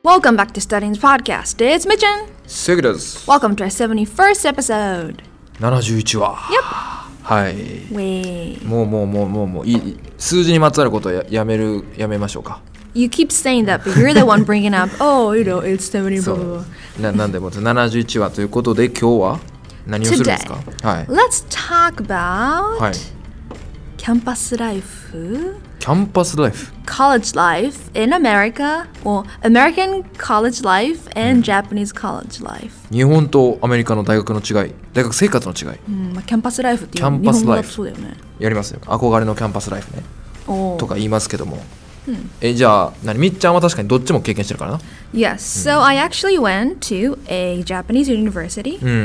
Welcome back to Studying's podcast. It's Mitchin. セグです。 Welcome to our 71st episode. 71話。 Yep. はい。 Wait. もういい。数字にまつわることをやめましょうか。 You keep saying that, but you're the one bringing up, oh, you know, it's 70, そ blah, う blah, blah. なんでも71話ということで今日は何をするんですか？ Today, はい。 let's talk about はい。 キャンパスライフ。 キャンパスライフ。 College life in America, or American college life and Japanese college life. 日本とアメリカの大学の違い、大学生活の違い、 まあ、キャンパスライフっていうキャンパスライフ日本語だとそうだよね。 やりますよ。憧れのキャンパスライフね。 おーとか言いますけども。じゃあみっちゃんは確かにどっちも経験してるからな。 Yes, so I actually went to a Japanese university うん。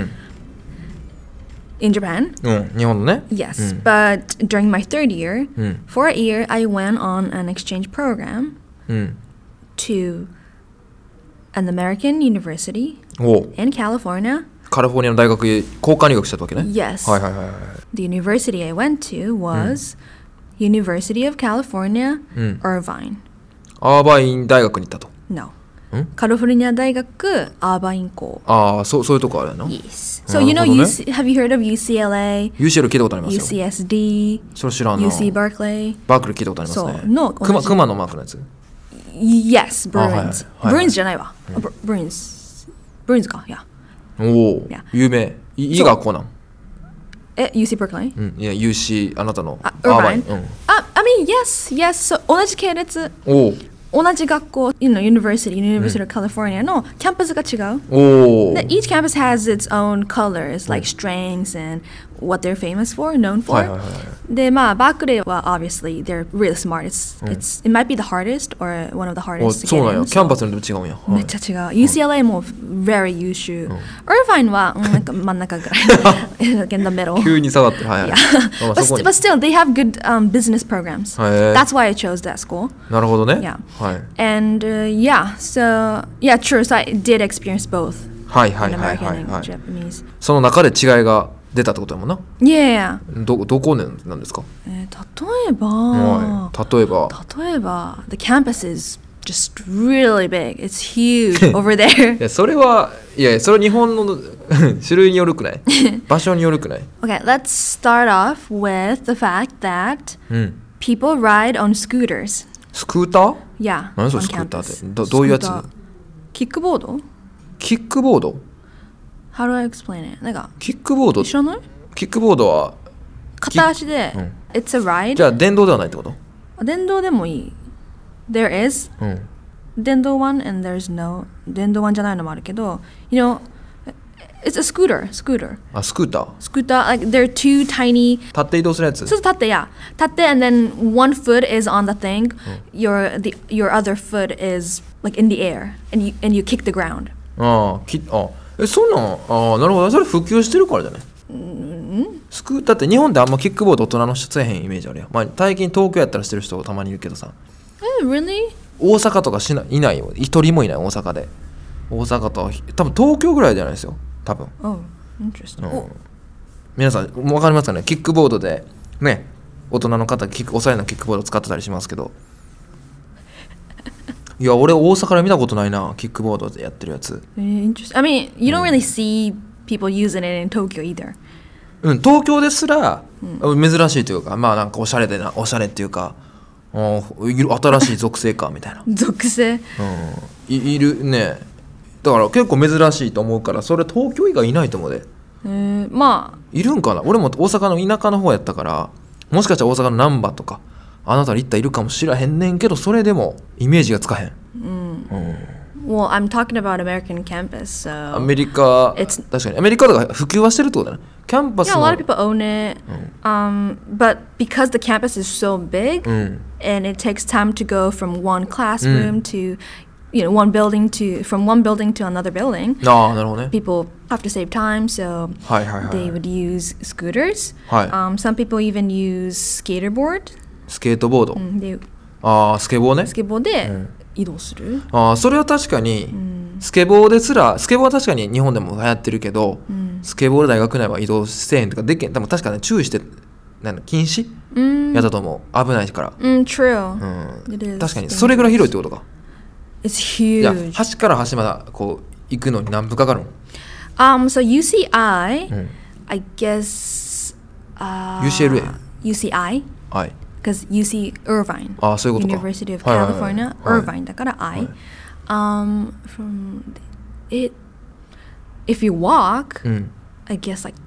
in Japan. 日本のね。 Yes, but during my third year, for a year, I went on an exchange program うん。 to an American university おう。 in California. カリフォルニアの大学へ交換留学したわけね。 Yes, はいはいはいはい。 the university I went to was University of California, Irvine. アーバイン大学に行ったと。 No. カリフォルニア大学アーバイン校。 ああ、そういうとこあるの。 Yes. So you know, have you heard of UCLA, UCL 聞いたことありますよ。 UCSD, それ知らんな。 UC Berkeley? バークリー聞いたことありますそうね。 の熊のマークのやつ。 Yes, Bruins. はいはいはい。 Bruins じゃないわ。Bruins. Bruins か。Yeah. おお Yeah.、 有名。いい学校なん。 UC Berkeley? うん、いや、UC、あなたの。 Irvine? うん。 I mean, yes, yes. So 同じ系列、 お同じ学校、University of California のキャンパスが違う。 お。 で Each campus has its own colors, like strengths and what they're famous for, known for. はいはいはい。 で、まあ、バークレーは obviously they're really smart. It might be the hardest or one of the お、 hardest to そう get なん in. や。キャンパスによって違うんや。 めっちゃ違う。UCLA も very 優秀。Irvine はなんか真ん中ぐらい。like in the middle. 急に下がってる。はいはい。まあ But, そこに but still, they have good business programs. へー That's why I chose that school. なるほどね。 Yeah. はい。 And yeah, so yeah, true. So I did experience both はいはい in はい American はい and はい。 Japanese. その中で違いが出たってことやもんな。 Yeah. どこなんですか？ 例はい。例えば。 the campus is just really big. It's huge over there. いやそれ日本の種類によるくない場所によるくない。 Okay, let's start off with the fact that うん。 people ride on scooters. スクーター？ Yeah, 何それ on スクーターって campus. どういうやつ？ スクーターキックボード？ キックボード？ How do I explain it? なんかキックボード？ 知らない？ キックボードは片足で、It's a ride. じゃあ電動ではないってこと？ 電動でもいい。There is うん。 電動 one and there's no 電動 one じゃないのもあるけど You know, it's a scooter. あ、スクーター。 スクーター like they're two tiny 立って移動するやつ。 そう立って、yeah. 立って and then one foot is on the thing. Your other foot is like in the air and you kick the ground. そんなんなるほど。それ普及してるからじゃない？スクーターって日本であんまキックボード大人の人せえへんイメージあるやん。まあ最近東京やったらしてる人たまにいるけどさ。 Really? 大阪とかいないよ。一人もいない大阪で。大阪と多分東京ぐらいじゃないですよ。多分。 Oh, interesting. 皆さん分かりますかね？キックボードでね、大人の方おしゃれなキックボード使ってたりしますけど。いや俺大阪で見たことないな、キックボードでやってるやつ。 Interesting. I mean, you don't really see people using it in Tokyo either. 東京ですら、珍しいというか、まあなんかおしゃれっていうか、新しい属性かみたいな。 属性。 いるね。だから結構珍しいと思うから、それ東京以外いないと思うで。 まあいるんかな。俺も大阪の田舎の方やったから、もしかしたら大阪の難波とかあなたに行ったらいるかもしらへんねんけど、それでもイメージがつかへん。 Well, I'm talking about American campus, so アメリカ、 It's- 確かにアメリカとか普及はしてるってことだね。キャンパス yeah, a の lot of people own it. But because the campus is so big and it takes time to go from one classroom to one building from one building to another building, ああなるほどね。 people have to save time, so はいはいはい。 they would use scooters. はい Some people even use skateboard. スケートボード。 でああスケボーね。 スケボーで移動する。 ああそれは確かに、スケボーですら、スケボーは確かに日本でも流行ってるけど、スケボーで大学内は移動せえへんとかできへん。多分確かに注意して禁止やったと思う。危ないから。 True. It is. 確かにそれぐらい広いってことか。 It's いや huge. 端から端までこう行くのに何分かかるの？ So UCI, うん I guess. UCLA? UCI, はい because UC Irvine. ああそういうことか University of はいはいはい California, はい Irvine. だから I. はい From it, if you walk, うん I guess like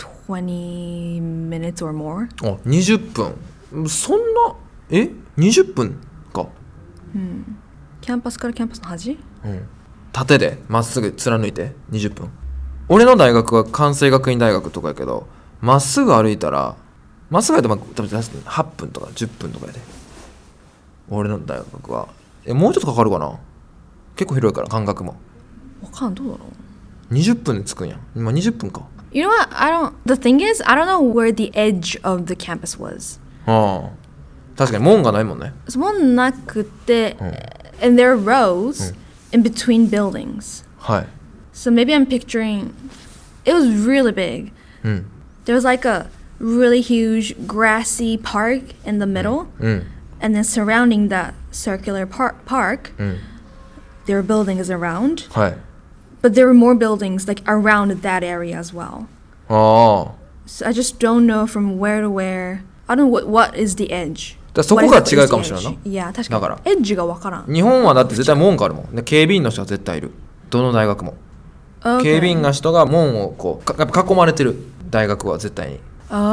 20 minutes or more. あ20分そんな20分かキャンパスからキャンパスの端？ うん縦でまっすぐ貫いて20分俺の大学は関西学院大学とかやけどまっすぐ歩いたらまっすぐ歩いたら多分8分とか10分とかやで俺の大学はもうちょっとかかるかな結構広いから間隔もわかんどうだろう。 20分で着くんや今20分か You know what? The thing is, I don't know where the edge of the campus was. ああ確かに門がないもんねそもなくて、and there are rows in between buildings. はい So maybe I'm picturing, it was really big. うん There was like a really huge grassy park in the middle, うん and then surrounding that circular park, うん there were buildings around. はい But there were more buildings like around that area as well. ああ So I just don't know from where to where. I don't know what is the edge. だそこが違うかもしれないな。 いや、確かに。 だからエッジがわからん。 日本はだって絶対門があるもんで警備員の人が絶対いるどの大学も、 Okay. 警備員が人が門をこうやっぱ囲まれてる大学は絶対に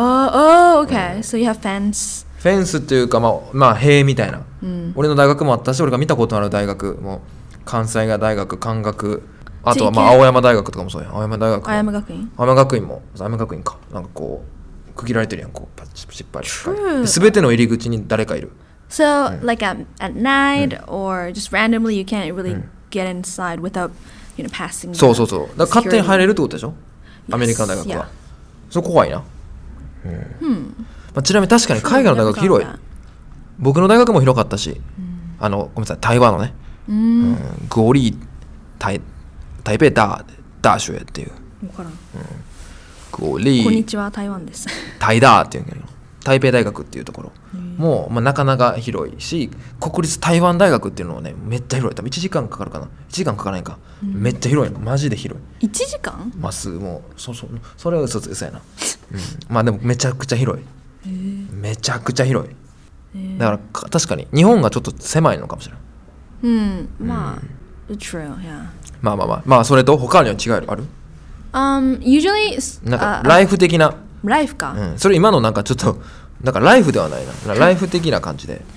Oh, okay. So you have fence. フェンスっていうかまあ塀みたいな、俺の大学もあったし俺が見たことのある大学も関西大学関学あとはまあ青山大学とかもそうや青山大学も青山学院。 青山学院も青山学院かなんかこう区切られてるやんこうパチパチパチ True. 全ての入り口に誰かいる So like at night or just randomly you can't really get inside without, passing. そうそうそうだから勝手に入れるってことでしょ Yes. アメリカの大学 Yeah. はそこ怖いな、まあ、ちなみに確かに海外の大学広い Never found that. 僕の大学も広かったし、ごめんなさい台湾のね、国立台北大学っていうわからん。 国こんに立ちは、台湾です。 台大っていうんだけど台北大学っていうところも、まあ、なかなか広いし国立台湾大学っていうのはねめっちゃ広い多分1時間かかるかな1時間かからないか、めっちゃ広いのマジで広い 1時間？ まっすぐもうそれは嘘やな、まあでもめちゃくちゃ広いめちゃくちゃ広いだから確かに日本がちょっと狭いのかもしれないまあ、true, yeah. まあそれと他には違いある Usually, なんかライフ的な、 ライフか。 それ今のなんかちょっとなんかライフではないなライフ的な感じで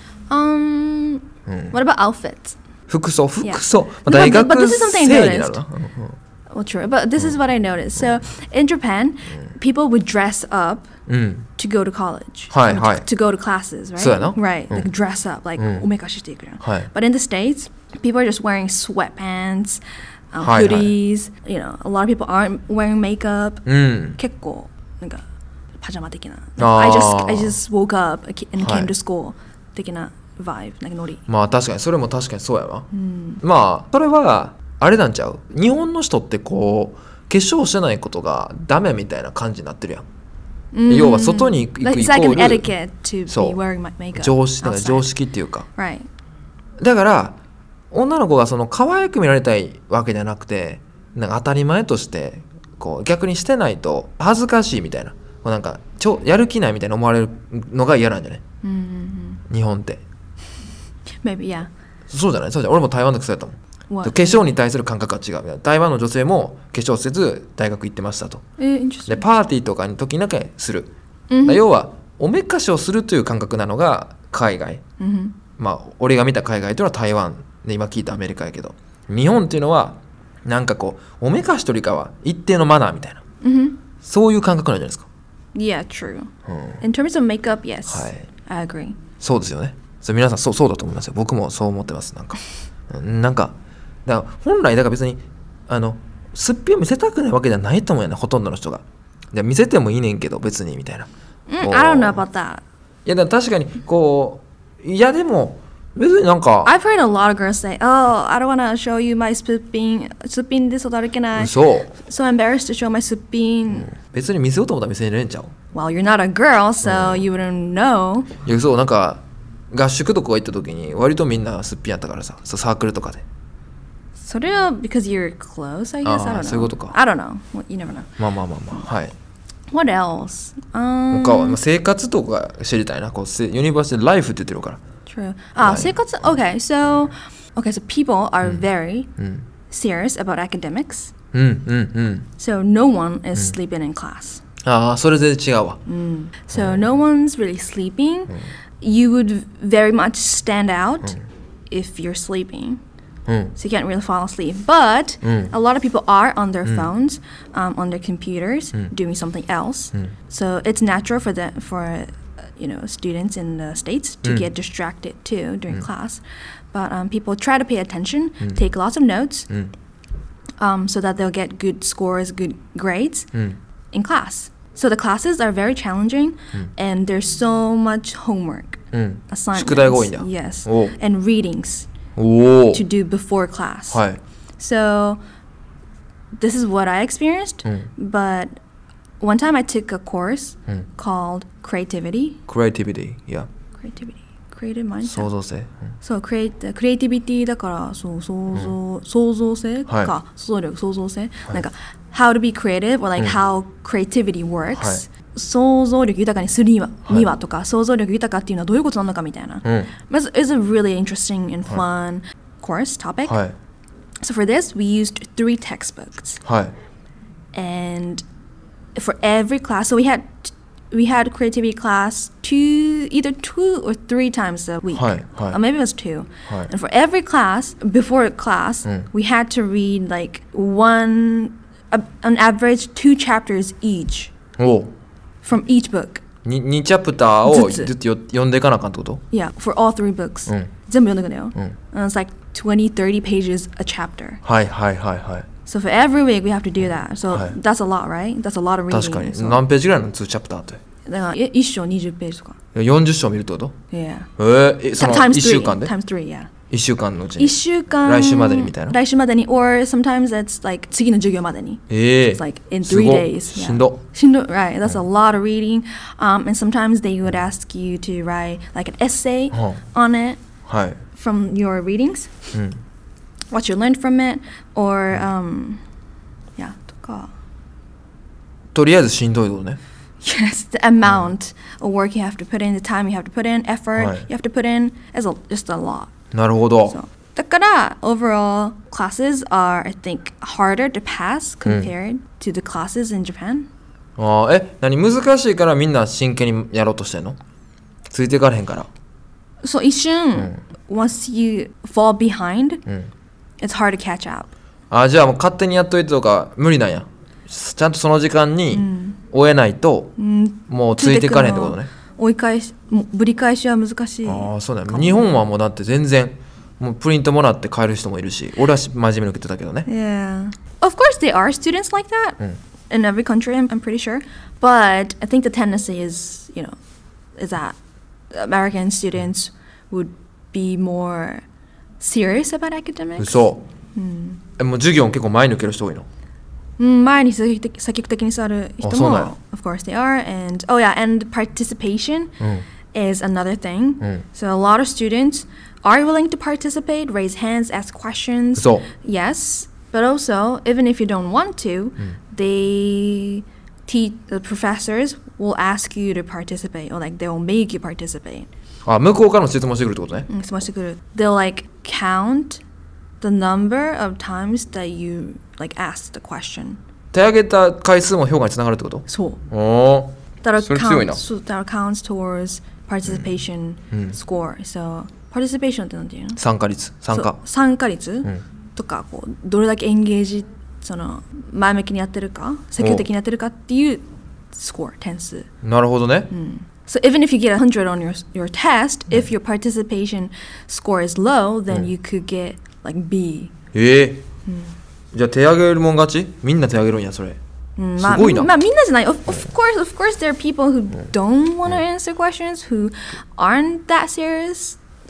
What about outfits? 服装 Yeah. まあ But 大 this 学 is something 生 I になる noticed. な Well, true, but this is what I noticed. So in Japan, people would dress up うん to go to college, はいはい to go to classes, right? そうやな。 Right, like dress up, like おめかししていくやん。 はい But in the States, people are just wearing sweatpants, はいはい hoodies. A lot of people aren't wearing makeup. うん結構なんかパジャマ的な。 あー I just woke up and はい came to school 的な vibe, なんかノリ。 まあ確かにそれも確かにそうやわ、まあそれはあれなんちゃう日本の人ってこう化粧してないことがダメみたいな感じになってるやん、要は外に行くイコ Like, it's like an ール etiquette to そう be wearing makeup. 常識だから outside. 常識っていうか Right. だから女の子がその可愛く見られたいわけじゃなくてなんか当たり前としてこう逆にしてないと恥ずかしいみたいなこうなんかやる気ないみたいな思われるのが嫌なんじゃない、日本って Maybe, yeah. そうじゃないそうじゃない俺も台湾でそうやったもん What? 化粧に対する感覚が違う台湾の女性も化粧せず大学行ってましたと Interesting. でパーティーとかに時だけする、要はおめかしをするという感覚なのが海外、まあ俺が見た海外というのは台湾で今聞いたアメリカやけど日本っていうのはなんかこうおめかしというよりかは一定のマナーみたいな、そういう感覚なんじゃないですか Yeah, true. In terms of makeup, yes. はい I agree. そうですよねそれ皆さんそうだと思いますよ僕もそう思ってますなんかなんかだから本来だから別にすっぴんを見せたくないわけじゃないと思うよねほとんどの人がで見せてもいいねんけど別にみたいな、こう I don't know about that. いやでも確かにこういやでも別になんか I've heard a lot of girls say, "Oh, I don't want to show you my すっぴんで外歩けない。 そう So embarrassed to show my すっぴん。 別に見せようと思ったら見せれんちゃう Well, you're not a girl, so you wouldn't know. いやそうなんか合宿とか行った時に割とみんなすっぴんやったからさそうサークルとかでそれは because you're close, I guess. I don't know. そういうことか。 I don't know. You never know. まあはい。 What else? 他は生活とか知りたいな。こうユニバーシティライフって言ってるから。 True. 生活 Okay, so people are very serious about academics. So no one is sleeping in class. それで違うわ。 So no one's really sleeping. You would very much stand out if you're sleeping. So you can't really fall asleep. But a lot of people are on their phones, on their computers, doing something else. So it's natural for students in the States to get distracted too during class. But people try to pay attention, take lots of notes, so that they'll get good scores, good grades in class. So the classes are very challenging, and there's so much homework, assignments, 宿題が多いんだ。 yes, and readings to do before class. はい。 So this is what I experienced, but one time I took a course called Creativity. Creativity, yeah. Creative mindset. 創造性。 そうクリエイティビティだからそう創造性か、想像力創造性、なんか how to be creative or like how creativity works、想像力豊かにするにはとか想像力豊かっていうのはどういうことなのかみたいな、It's a really interesting and fun course topic、So for this we used 3 textbooks、and for every class, so we had creativity class either 2 or 3 times a week. Or maybe it was 2. And for every class, before class, we had to read like on average 2 chapters each from each book. 2チャプターをずっと読んでいかなあかんってこと？ Yeah, for all 3 books. 全部読んでいくんだよ。And it's like 20, 30 pages a chapter. はい。 So for every week we have to do that. So that's a lot, right? That's a lot of reading. 確かに。何ページぐらいの2チャプターって？ だから1章20ページとか。 40章見るってこと？ Yeah. その1週間で？ Times 3, yeah. 1週間のうちに？ 1週間。 来週までにみたいな？ 来週までに or sometimes it's like 次の授業までに。It's like in 3 days. しんど。 Right. That's a lot of reading. And sometimes they would ask you to write like an essay on it from your readings. What you learned from it or yeah とか。 とりあえずしんどいことね。 Yes, the amount of work you have to put in, the time you have to put in, effort you have to put in is just a lot. なるほど。 So, だから overall classes are, I think, harder to pass compared to the classes in Japan. 何難しいからみんな真剣にやろうとしてんの？ついていかれへんから。 そう一瞬、once you fall behind, it's hard to catch up. じゃあもう勝手にやっといてとか無理なんや。ちゃんとその時間に終えないと、もうついていかれへんってことね。 ぶり返しは難しい。 そうだよ。日本はもうだって全然もうプリントもらって帰る人もいるし、俺は真面目に言ってたけどね。 Yeah. Of course there are students like that in every country, I'm pretty sure. But I think the tendency is that American students would be more serious about academics. そう。もう授業結構前に受ける人多いの？ 前に積極的に座る人も of course they are, and and participation is another thing. So a lot of students are willing to participate, raise hands, ask questions. Yes, but also even if you don't want to, the professors will ask you to participate, or like they will make you participate. 向こうからも質問してくるってことね。 質問してくる。They'll like count the number of times that you like asked the question. 手挙げた回数も評価につながるってこと？ そう。 それ強いな。 That counts towards participation score. So participation ってなんていうの？参加率とかこうどれだけエンゲージ前向きにやってるか、積極的にやってるかっていうスコア点数。なるほどね。So even if you get 100 on your test, if your participation score is low, then you could get like B. じゃあ手挙げるもん勝ち？みんな手挙げるんやそれ。すごいな。まあみんなじゃない。Of course there are people who don't want to answer questions, who aren't that serious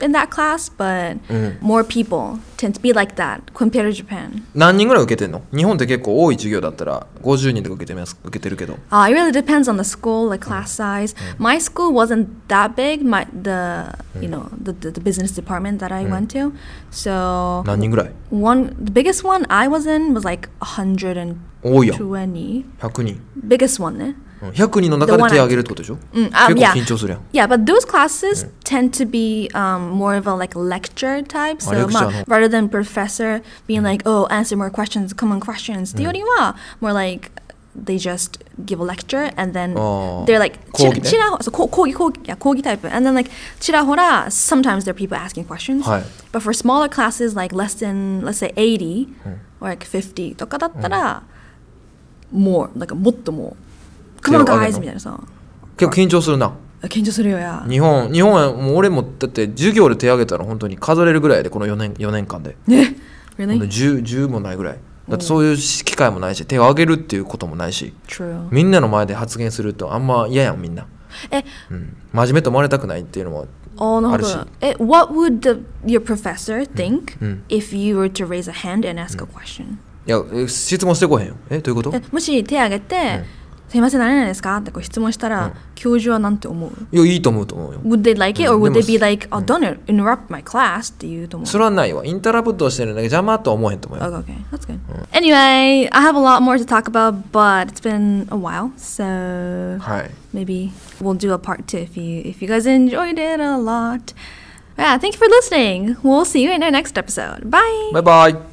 in that class, but more people tend to be like that compared to Japan. 何人ぐらい受けてんの？日本って結構多い授業だったら50人とか受けてるけど。 It really depends on the school, like class size. My school wasn't that big. The business department that I went to. So 何人ぐらい？ the biggest one I was in was like 120. 多いやん。100人。 Biggest one ね。 100人の中で手を挙げるってことでしょ？結構緊張するやん。 Yeah, but those classes tend to be more of a like lecture type. So rather than professor being like, oh, answer more questions, common questions. ってよりは more like they just give a lecture and then they're like 講義タイプ and then like ちらほら sometimes there are people asking questions. But for smaller classes like less than let's say 80 or like 50とかだったら more like もっともCome on guys みたいなさ結構緊張するな。 緊張するよや。 日本はもう俺もだって授業で手挙げたら本当に数えれるぐらいでこの4年間で。 ね Really? 10もないぐらい。だってそういう機会もないし手を挙げるっていうこともないし。 True. みんなの前で発言するとあんま嫌やんみんな。真面目と思われたくないっていうのもあるし。 What would your professor think if you were to raise a hand and ask a question? いや質問してこへんよ。どういうこと？ もし手挙げてすいません何々ですかってこう質問したら、教授はなんて思う？ いやいいと思うよ。 Would they like it or would they be like, oh don't interrupt my class って言うと思う？ それはないわ。インタラプットしてるんだけど邪魔とは思えへんと思うよ。 Okay, that's good. Anyway, I have a lot more to talk about, but it's been a while, so maybe we'll do a part 2 if you guys enjoyed it a lot. Yeah, thank you for listening. We'll see you in our next episode. Bye. Bye bye.